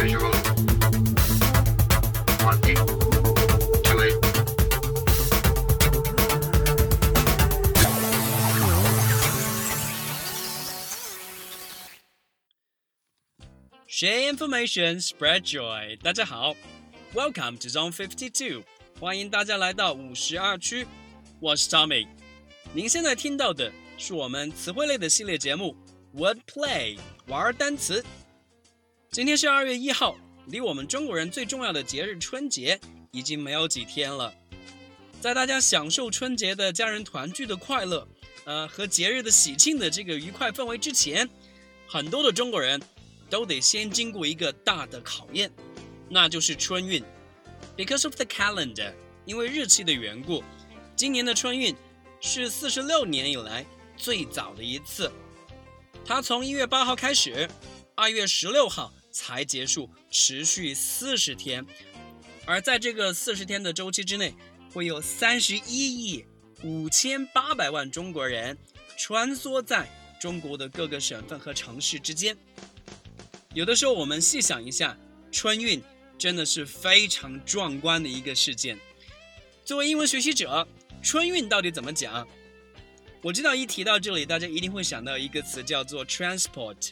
visual. Wanting to it. Share information, spread joy. 大家好 ，Welcome to Zone 52， 欢迎大家来到52区。我是 Tommy。您现在听到的是我们词汇类的系列节目 Wordplay 玩单词。今天是2月1号，离我们中国人最重要的节日春节已经没有几天了。在大家享受春节的家人团聚的快乐，和节日的喜庆的这个愉快氛围之前，很多的中国人都得先经过一个大的考验，那就是春运。Because of the calendar， 因为日期的缘故，今年的春运是46年以来最早的一次。它从1月8号开始，2月16号才结束，持续40天。而在这个40天的周期之内，会有31亿5800万中国人穿梭在中国的各个省份和城市之间。有的时候我们细想一下，春运真的是非常壮观的一个事件。作为英文学习者，春运到底怎么讲？我知道一提到这里，大家一定会想到一个词叫做 transport，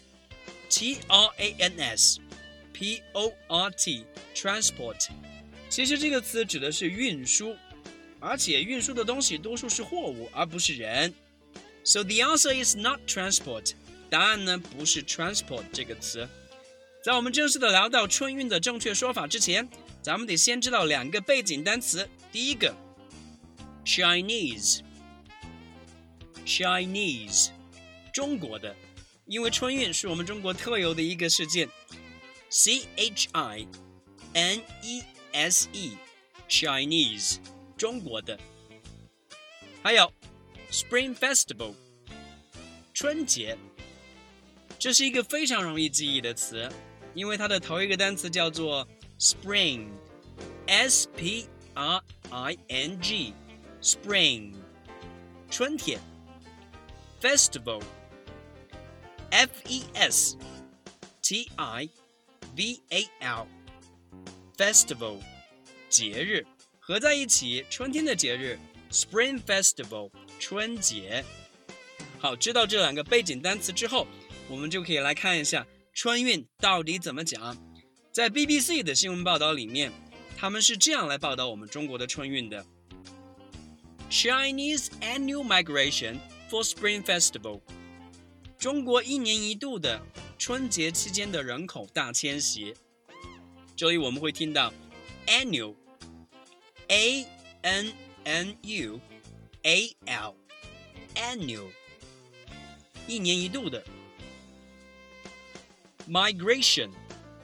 T-R-A-N-S-P-O-R-T transport。 其实这个词指的是运输，而且运输的东西多数是货物而不是人。 So the answer is not transport， 答案呢不是 transport 这个词。在我们正式的聊到春运的正确说法之前，咱们得先知道2个背景单词。第一个 Chinese， 中国的，因为春运是我们中国特有的一个事件。 C-H-I-N-E-S-E Chinese， 中国的。还有 Spring Festival， 春节，这是一个非常容易记忆的词，因为它的头一个单词叫做 Spring， S-P-R-I-N-G Spring， 春天。 Festival， F-E-S-T-I-V-A-L Festival， 节日，合在一起，春天的节日 Spring Festival， 春节。好，知道这2个背景单词之后，我们就可以来看一下春运到底怎么讲。在 BBC 的新闻报道里面，他们是这样来报道我们中国的春运的。 Chinese annual migration for Spring Festival， 中国1年1度的春节期间的人口大迁徙。这里我们会听到 annual A-N-N-U-A-L annual， 1年1度的。Migration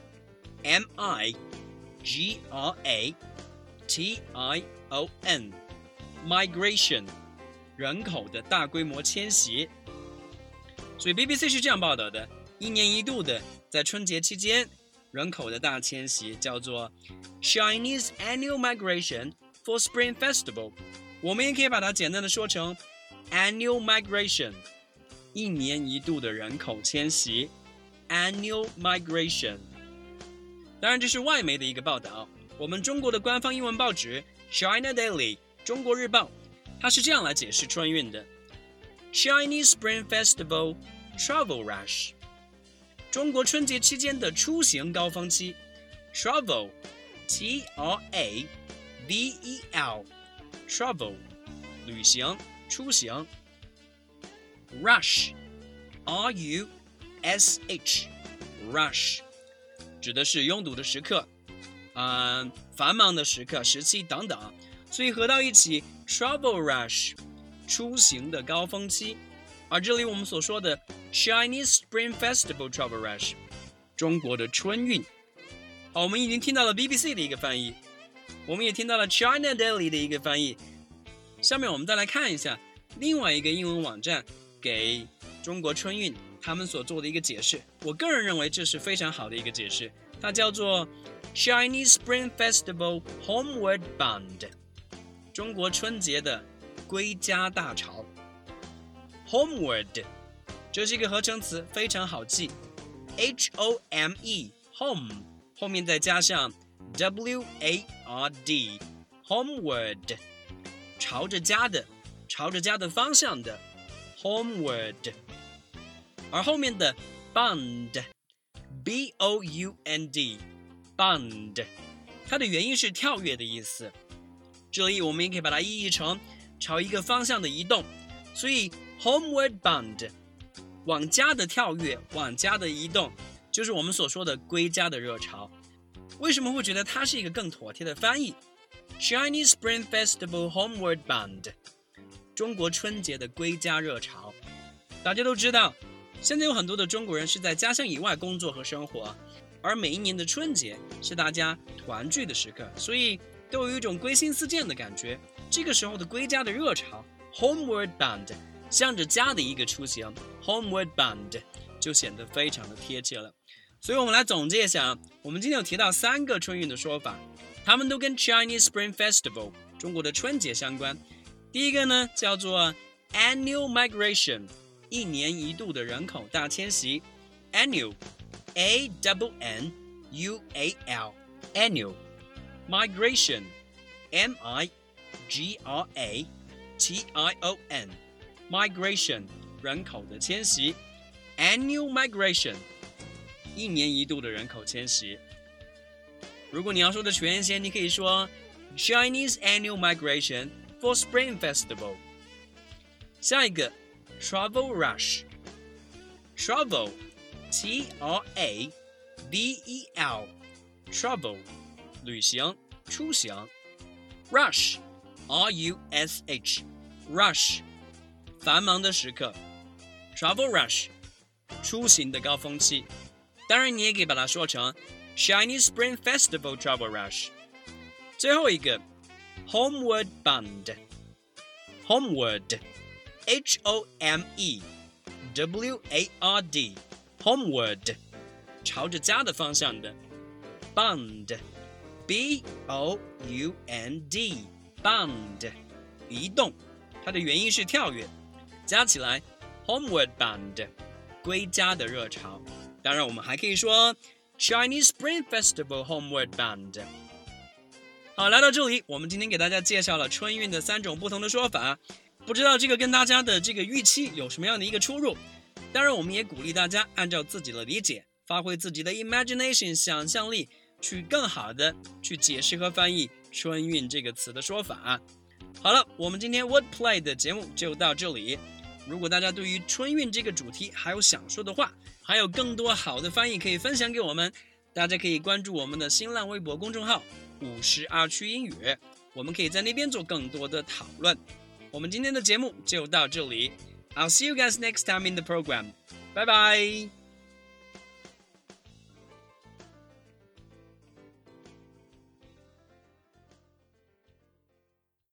M-I-G-R-A-T-I-O-N Migration， 人口的大规模迁徙。所以 BBC 是这样报道的，1年1度的在春节期间人口的大迁徙叫做 Chinese annual migration for Spring Festival。 我们也可以把它简单的说成 annual migration， 1年1度的人口迁徙 annual migration。 当然这是外媒的一个报道，我们中国的官方英文报纸 China Daily 中国日报，它是这样来解释春运的。 Chinese Spring Festival Travel Rush， 中国春节期间的出行高峰期。 Travel T-R-A-V-E-L Travel 旅行出行。 Rush R-U-S-H Rush 指的是拥堵的时刻，繁忙的时刻时期等等，所以合到一起 Travel Rush 出行的高峰期。而这里我们所说的 Chinese Spring Festival Travel Rush 中国的春运。好，我们已经听到了 BBC 的一个翻译，我们也听到了 China Daily 的一个翻译。下面我们再来看一下另外一个英文网站给中国春运他们所做的一个解释，我个人认为这是非常好的一个解释，它叫做 Chinese Spring Festival Homeward Bound， 中国春节的归家大潮。 Homeward 这是一个合成词，非常好记， H-O-M-E Home 后面再加上 ward homeward 朝着家的方向的 homeward， 而后面的 bound bound bound 它的原因是跳跃的意思，这里我们也可以把它意译成朝一个方向的移动，所以 homeward bound 往家的跳跃，往家的移动，就是我们所说的归家的热潮。为什么会觉得它是一个更妥帖的翻译？ Chinese Spring Festival Homeward Bound 中国春节的归家热潮。大家都知道，现在有很多的中国人是在家乡以外工作和生活，而每一年的春节是大家团聚的时刻，所以都有一种归心似箭的感觉。这个时候的归家的热潮 Homeward Bound 向着家的一个出行 Homeward Bound 就显得非常的贴切了。所以我们来总结一下，我们今天有提到3个春运的说法，它们都跟 Chinese Spring Festival 中国的春节相关。第一个呢叫做 Annual Migration 一年一度的人口大迁徙 Annual A-N-N-U-A-L Annual Migration M-I-G-R-A-T-I-O-N Migration 人口的迁徙 Annual Migration一年一度的人口迁徙。如果你要说的全些，你可以说 Chinese Annual Migration for Spring Festival。 下一个 Travel Rush Travel T-R-A-V-E-L Travel 旅行出行 Rush R-U-S-H Rush 繁忙的时刻 Travel Rush 出行的高峰期。当然你也可以把它说成 Chinese Spring Festival Travel Rush。 最后一个 Homeward Bound Homeward H-O-M-E-W-A-R-D Homeward 朝着家的方向的 Bound B-O-U-N-D Bound 移动，它的原因是跳跃，加起来 Homeward Bound 归家的热潮。当然我们还可以说 Chinese Spring Festival Homeward Bound。 好，来到这里我们今天给大家介绍了春运的3种不同的说法，不知道这个跟大家的这个预期有什么样的一个出入。当然我们也鼓励大家按照自己的理解，发挥自己的 imagination 想象力，去更好的去解释和翻译春运这个词的说法。好了，我们今天 Wordplay 的节目就到这里。如果大家对于春运这个主题还有想说的话，还有更多好的翻译可以分享给我们，大家可以关注我们的新浪微博公众号52区英语，我们可以在那边做更多的讨论。我们今天的节目就到这里， I'll see you guys next time in the program. Bye bye.